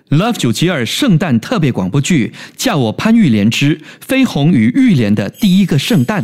Love 972圣诞特别广播剧，叫我潘玉莲之飞鸿与玉莲的第一个圣诞。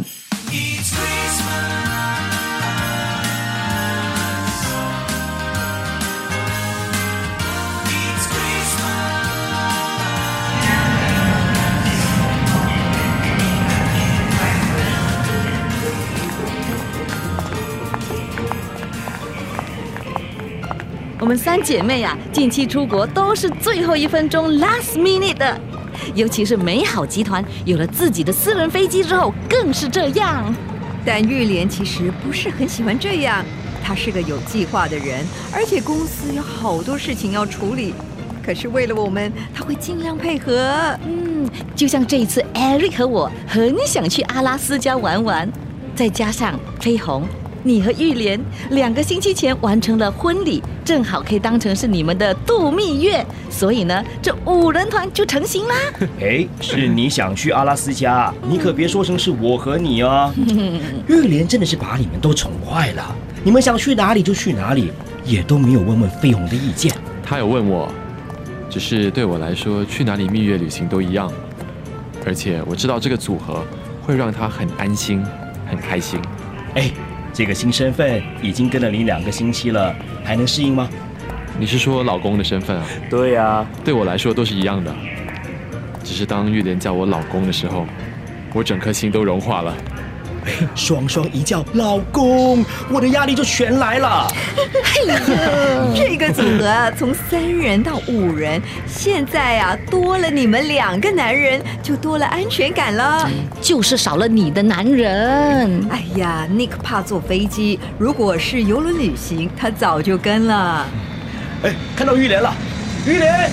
我们三姐妹啊，近期出国都是最后1分钟 last minute 的，尤其是美好集团有了自己的私人飞机之后，更是这样。 但玉莲其实不是很喜欢这样，她是个有计划的人，而且公司有好多事情要处理。可是为了我们，她会尽量配合。 就像这一次 Eric 和我很想去阿拉斯加玩玩，再加上飞鸿，你和玉莲2个星期前完成了婚礼，正好可以当成是你们的度蜜月，所以呢，这5人团就成型啦。 是你想去阿拉斯加，你可别说成是我和你哦。玉莲真的是把你们都宠坏了，你们想去哪里就去哪里，也都没有问问飞鸿的意见。 他有问我，只是对我来说，去哪里蜜月旅行都一样，而且我知道这个组合会让他很安心、很开心。 这个新身份已经跟了你2个星期了，还能适应吗？ 你是说老公的身份啊？ 对啊， 对我来说都是一样的，只是当玉莲叫我老公的时候，我整颗心都融化了。 双双一叫老公，我的压力就全来了。 这个组合从3人到5人，现在啊多了你们2个男人，就多了安全感了。 就是少了你的男人。 哎呀 ，Nick 怕坐飞机，如果是邮轮旅行，他早就跟了。 看到玉莲了，玉莲。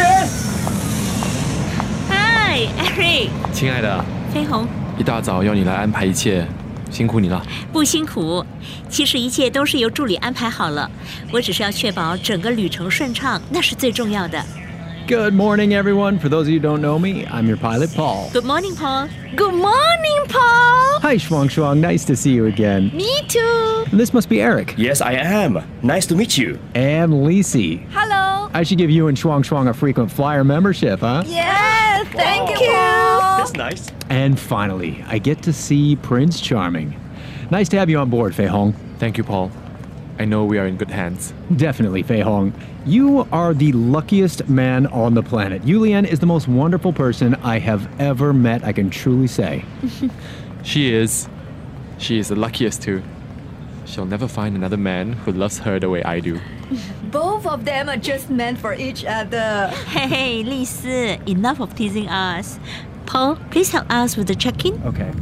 嗨 ，Eric， 亲爱的， 飞鸿， 一大早要你来安排一切，辛苦你了。 不辛苦，其实一切都是由助理安排好了，我只是要确保整个旅程顺畅，那是最重要的。 Good morning, everyone. For those of you who don't know me, I'm your pilot, Paul. Good morning, Paul. Good morning, Paul. Hi, Shuang Shuang. Nice to see you again. Me too. This must be Eric. Yes, I am. Nice to meet you. And Lisi. Hello. I should give you and Shuang Shuang a frequent flyer membership, huh? Yes, thank you. That's nice. And finally, I get to see Prince Charming. Nice to have you on board, Fei Hong. Thank you, Paul. I know we are in good hands. Definitely, Fei Hong. You are the luckiest man on the planet. Yulian is the most wonderful person I have ever met, I can truly say. She is the luckiest too. She'll never find another man who loves her the way I do. Both of them are just meant for each other. Hey, 丽丝 enough of teasing us. Paul, please help us with the check-in. Okay.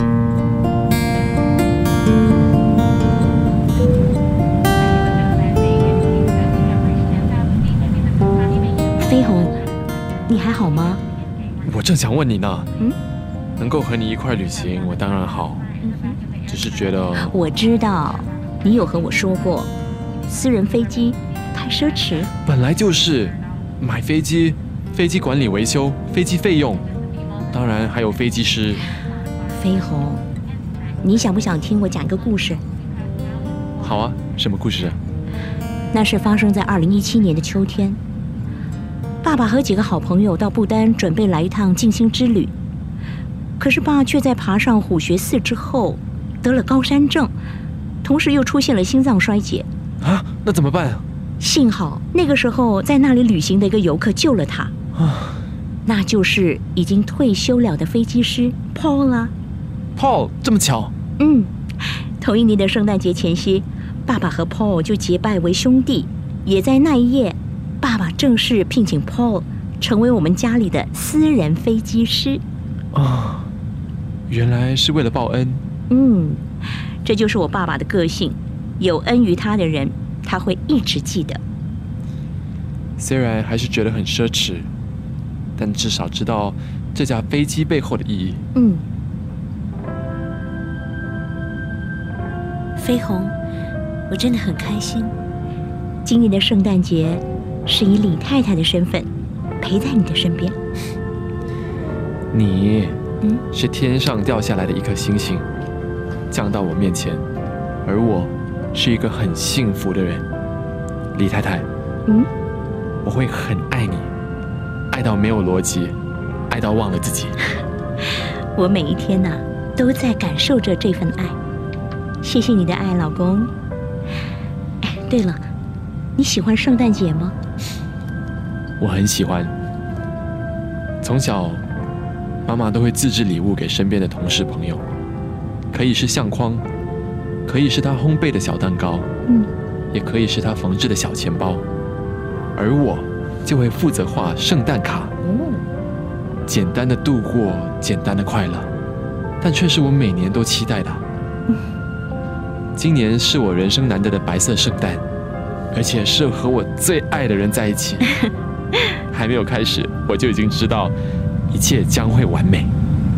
飞鸿，你还好吗？ 我正想问你呢。能够和你一块旅行，我当然好。只是觉得我知道，你有和我说过，私人飞机太奢侈。 本来就是买飞机、飞机管理维修、飞机费用，当然还有飞机师。 飞鸿，你想不想听我讲一个故事？ 好啊，什么故事？ 那是发生在2017年的秋天。爸爸和几个好朋友到不丹准备来一趟静心之旅，可是爸却在爬上虎穴寺之后得了高山症，同时又出现了心脏衰竭。 啊，那怎么办？ 幸好那个时候在那里旅行的一个游客救了他，那就是已经退休了的飞机师 Paul 啦。 Paul， 这么巧？ 同一年的圣诞节前夕，爸爸和 Paul 就结拜为兄弟，也在那一夜，爸爸正式聘请 Paul 成为我们家里的私人飞机师。 原来是为了报恩。 这就是我爸爸的个性，有恩于他的人，他会一直记得。 虽然还是觉得很奢侈，但至少知道这架飞机背后的意义。 飞鸿，我真的很开心，今年的圣诞节是以李太太的身份陪在你的身边。 你是天上掉下来的一颗星星，降到我面前，而我是一个很幸福的人。李太太，我会很爱你， 爱到没有逻辑，爱到忘了自己。 我每一天都在感受着这份爱。谢谢你的爱，老公。哎，对了，你喜欢圣诞节吗？ 我很喜欢。从小，妈妈都会自制礼物给身边的同事朋友，可以是相框，可以是她烘焙的小蛋糕，也可以是她缝制的小钱包，而我就会负责画圣诞卡，简单的度过简单的快乐，但却是我每年都期待的。今年是我人生难得的白色圣诞，而且是和我最爱的人在一起。还没有开始，我就已经知道一切将会完美。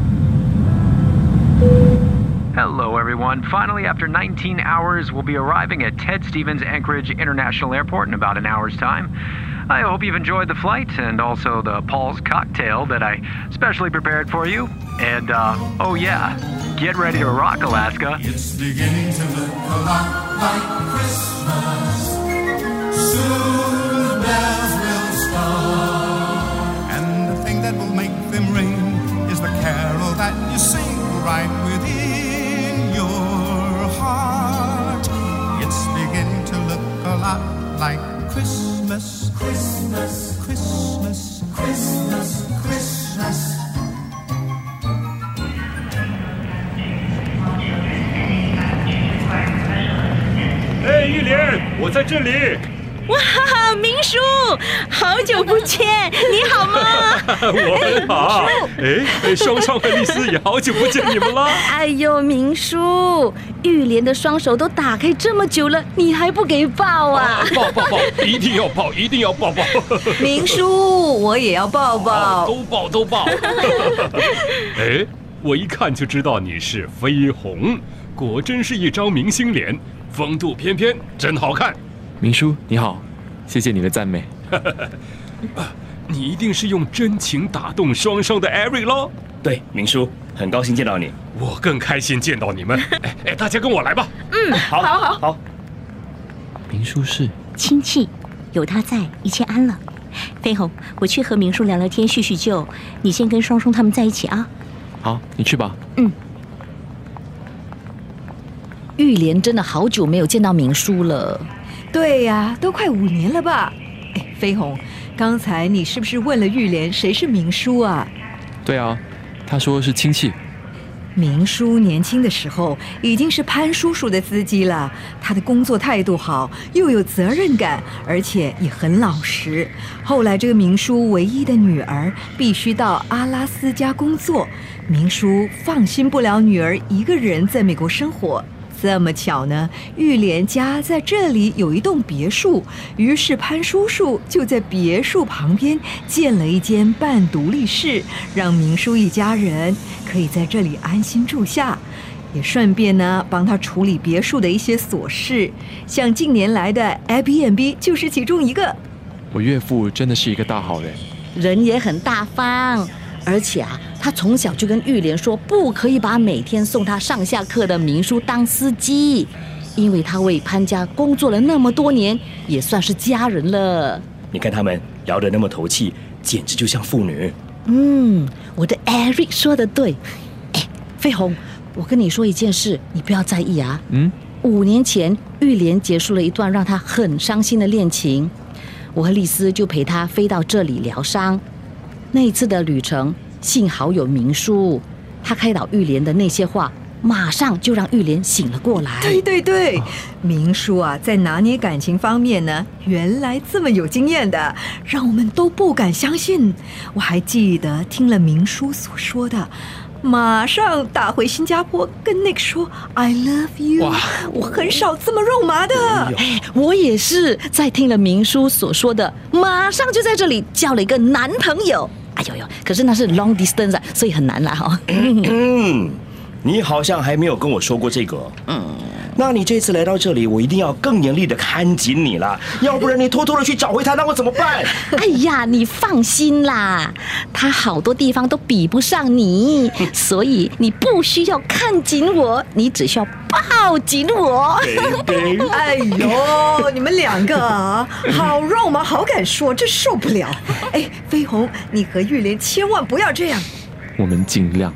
Hello, everyone. Finally, after 19 hours, we'll be arriving at Ted Stevens Anchorage International Airport in about an hour's time. I hope you've enjoyed the flight and also the Paul's cocktail that I specially prepared for you. And, oh yeah, get ready to rock, Alaska. It's beginning to look a lot like Christmas. Soon the bells will start. And the thing that will make them ring is the carol that you sing right within your heart. It's beginning to look a lot like Christmas, Christmas, Christmas, Christmas, Christmas. 哎，玉莲，我在这里。 哇，明叔，好久不见，你好吗？ 我很好。哎，双双和丽丝也好久不见你们了。 哎呦，明叔，玉莲的双手都打开这么久了，你还不给抱啊？ 抱，一定要抱，一定要抱。 明叔，我也要抱抱。 都抱。哎，我一看就知道你是绯红，果真是一张明星脸，风度翩翩，真好看。 明叔你好，谢谢你的赞美。 你一定是用真情打动双双的 Eric 咯？ 对，明叔，很高兴见到你。 我更开心见到你们。哎，大家跟我来吧。 好。 明叔是亲戚，有他在，一切安了。飞鸿，我去和明叔聊聊天，叙叙旧。你先跟双双他们在一起啊。 好，你去吧。 玉莲真的好久没有见到明叔了。 对呀，都快5年了吧？哎，飞鸿，刚才你是不是问了玉莲谁是明叔啊？ 对啊，他说是亲戚。 明叔年轻的时候已经是潘叔叔的司机了，他的工作态度好，又有责任感，而且也很老实。后来这个明叔唯一的女儿必须到阿拉斯加工作，明叔放心不了女儿一个人在美国生活。这么巧呢，玉莲家在这里有一栋别墅，于是潘叔叔就在别墅旁边建了一间半独立室，让明叔一家人可以在这里安心住下，也顺便呢帮他处理别墅的一些琐事，像近年来的 Airbnb 就是其中一个。 我岳父真的是一个大好人， 人也很大方，而且他从小就跟玉莲说，不可以把每天送他上下课的明叔当司机，因为他为潘家工作了那么多年，也算是家人了。 你看他们聊得那么投契，简直就像父女。 我的 Eric 说的对。哎，飞鸿，我跟你说一件事，你不要在意啊。5年前，玉莲结束了一段让她很伤心的恋情，我和丽丝就陪她飞到这里疗伤。那一次的旅程，幸好有明叔，他开导玉莲的那些话，马上就让玉莲醒了过来。 对，明叔啊，在拿捏感情方面呢，原来这么有经验的，让我们都不敢相信。我还记得听了明叔所说的，马上打回新加坡跟 Nick 说 I love you。 我很少这么肉麻的。 我也是在听了明叔所说的，马上就在这里交了一个男朋友。哎呦，可是那是 long distance 所以很难啦。 你好像还没有跟我说过这个。 那你这次来到这里，我一定要更严厉的看紧你了，要不然你偷偷的去找回他，那我怎么办？ 哎呀，你放心啦，他好多地方都比不上你，所以你不需要看紧我，你只需要抱紧我。 哎呦，你们两个啊，好肉麻，好敢说，这受不了。哎，飞鸿，你和玉莲千万不要这样。 我们尽量。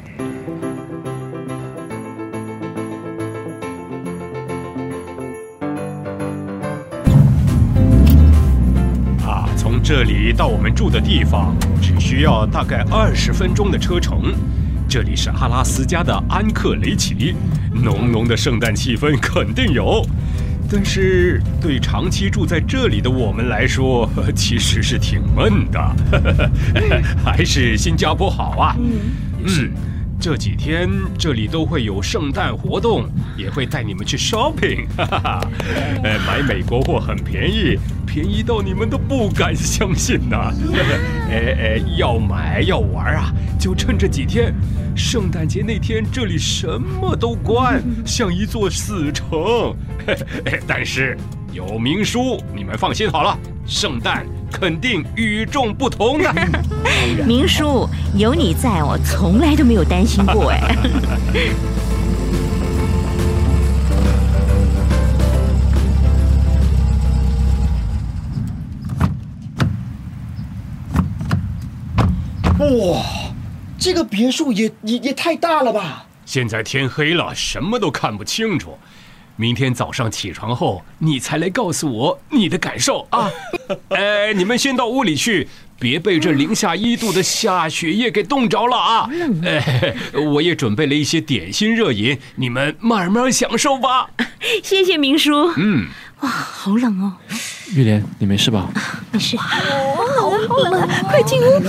从这里到我们住的地方只需要大概20分钟的车程。这里是阿拉斯加的安克雷奇，浓浓的圣诞气氛肯定有。但是对长期住在这里的我们来说，其实是挺闷的。还是新加坡好啊。这几天这里都会有圣诞活动，也会带你们去 shopping， 买美国货很便宜，便宜到你们都不敢相信呐。要买要玩啊，就趁这几天。圣诞节那天这里什么都关，像一座死城。但是有明叔，你们放心好了，圣诞肯定与众不同。 明叔，有你在，我从来都没有担心过哎。 哇，这个别墅也太大了吧！ 现在天黑了，什么都看不清楚。明天早上起床后，你才来告诉我你的感受啊！你们先到屋里去，别被这零下1度的下雪夜给冻着了啊！我也准备了一些点心热饮，你们慢慢享受吧。 谢谢明叔。哇，好冷哦。 玉莲，你没事吧？ 没事。 好冷，快进屋。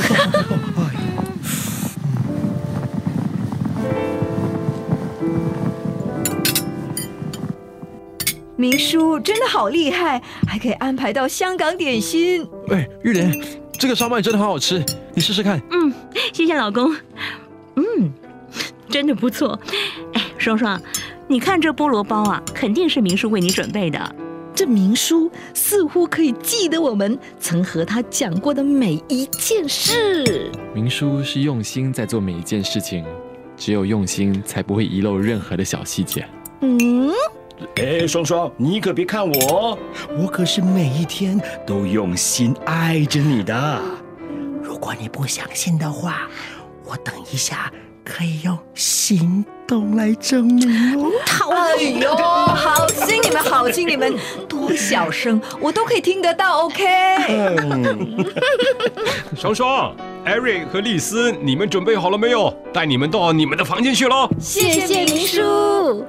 明叔真的好厉害，还可以安排到香港点心。 哎，玉莲，这个烧麦真的好好吃，你试试看。 谢谢老公。真的不错。哎，双双，你看这菠萝包啊，肯定是明叔为你准备的。 这明叔似乎可以记得我们曾和他讲过的每一件事。 明叔是用心在做每一件事情，只有用心才不会遗漏任何的小细节。 双双，你可别看我，我可是每一天都用心爱着你的。如果你不相信的话，我等一下可以用行动来证明哦。 哎呦，好心你们，好心你们，多小声我都可以听得到 ，OK？ 双双、艾瑞和丽丝，你们准备好了没有？带你们到你们的房间去喽。 谢谢明叔。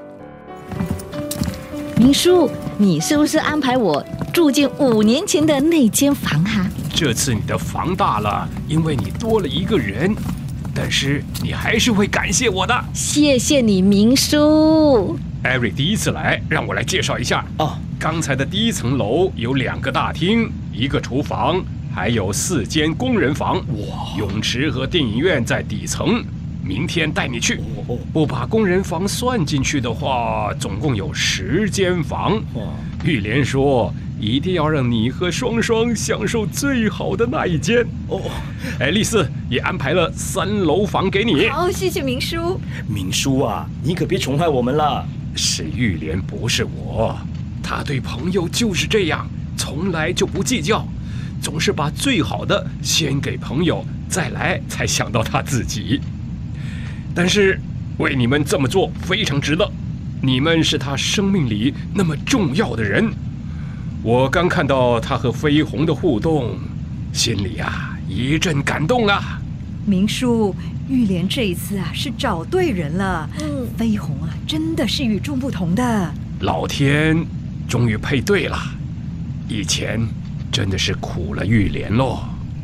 明叔，你是不是安排我住进5年前的那间房啊？ 这次你的房大了，因为你多了一个人，但是你还是会感谢我的。 谢谢你，明叔。 艾瑞第一次来，让我来介绍一下。刚才的第1层楼有2个大厅，1个厨房，还有4间工人房。泳池和电影院在底层。明天带你去，不把工人房算进去的话，总共有10间房。玉莲说，一定要让你和双双享受最好的那一间。丽丝也安排了3楼房给你。 好，谢谢明叔。 明叔啊，你可别宠坏我们了。 是玉莲，不是我。她对朋友就是这样，从来就不计较，总是把最好的先给朋友，再来才想到她自己。但是为你们这么做非常值得，你们是他生命里那么重要的人。我刚看到他和飞鸿的互动，心里一阵感动啊。 明叔，玉莲这一次是找对人了。飞鸿真的是与众不同的。 老天终于配对了，以前真的是苦了玉莲喽。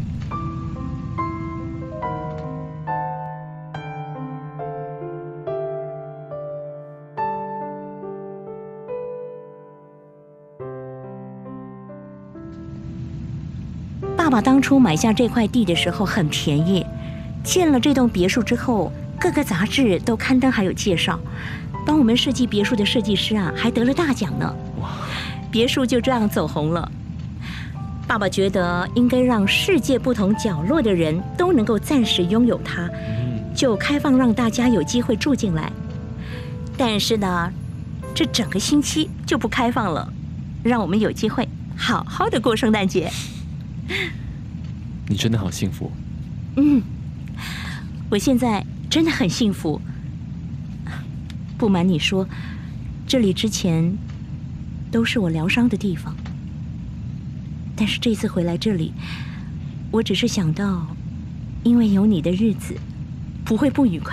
爸爸当初买下这块地的时候很便宜，建了这栋别墅之后，各个杂志都刊登还有介绍。 帮我们设计别墅的设计师啊，还得了大奖呢。别墅就这样走红了。爸爸觉得应该让世界不同角落的人都能够暂时拥有它，就开放让大家有机会住进来。但是呢，这整个星期就不开放了，让我们有机会好好的过圣诞节。 你真的好幸福。 我现在真的很幸福。不瞒你说，这里之前都是我疗伤的地方，但是这次回来这里，我只是想到，因为有你的日子不会不愉快。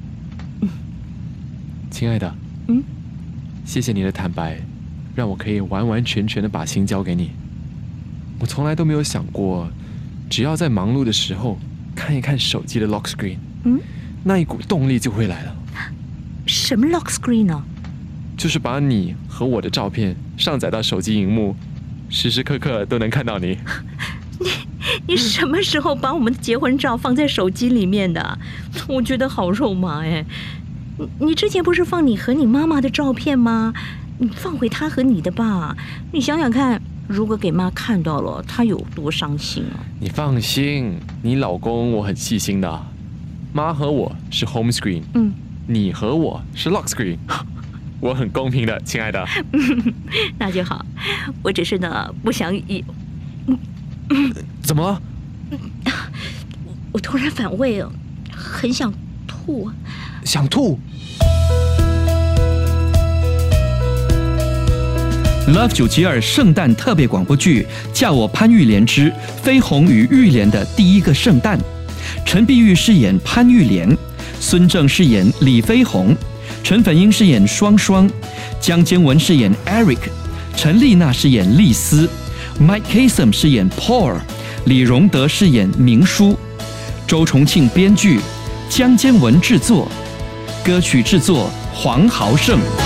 亲爱的，谢谢你的坦白，让我可以完完全全的把心交给你。我从来都没有想过，只要在忙碌的时候看一看手机的 lock screen，那一股动力就会来了。 什么 lock screen 呢？ 就是把你和我的照片上载到手机荧幕，时时刻刻都能看到你。 你什么时候把我们的结婚照放在手机里面的？我觉得好肉麻哎！你之前不是放你和你妈妈的照片吗？你放回她和你的吧。你想想看，如果给妈看到了，她有多伤心啊！ 你放心，你老公我很细心的。妈和我是 home screen，你和我是 lock screen， 我很公平的，亲爱的。 那就好，我只是呢不想怎么了？ 我突然反胃了，很想吐。 想吐。 Love 972圣诞特别广播剧《叫我潘玉莲之飞鸿与玉莲的第一个圣诞》，陈碧玉饰演潘玉莲，孙正饰演李飞鸿，陈粉英饰演双双，江坚文饰演 Eric， 陈丽娜饰演丽丝， Mike Kasem 饰演 Paul， 李荣德饰演明书，周重庆编剧，江坚文制作，歌曲制作黄豪胜。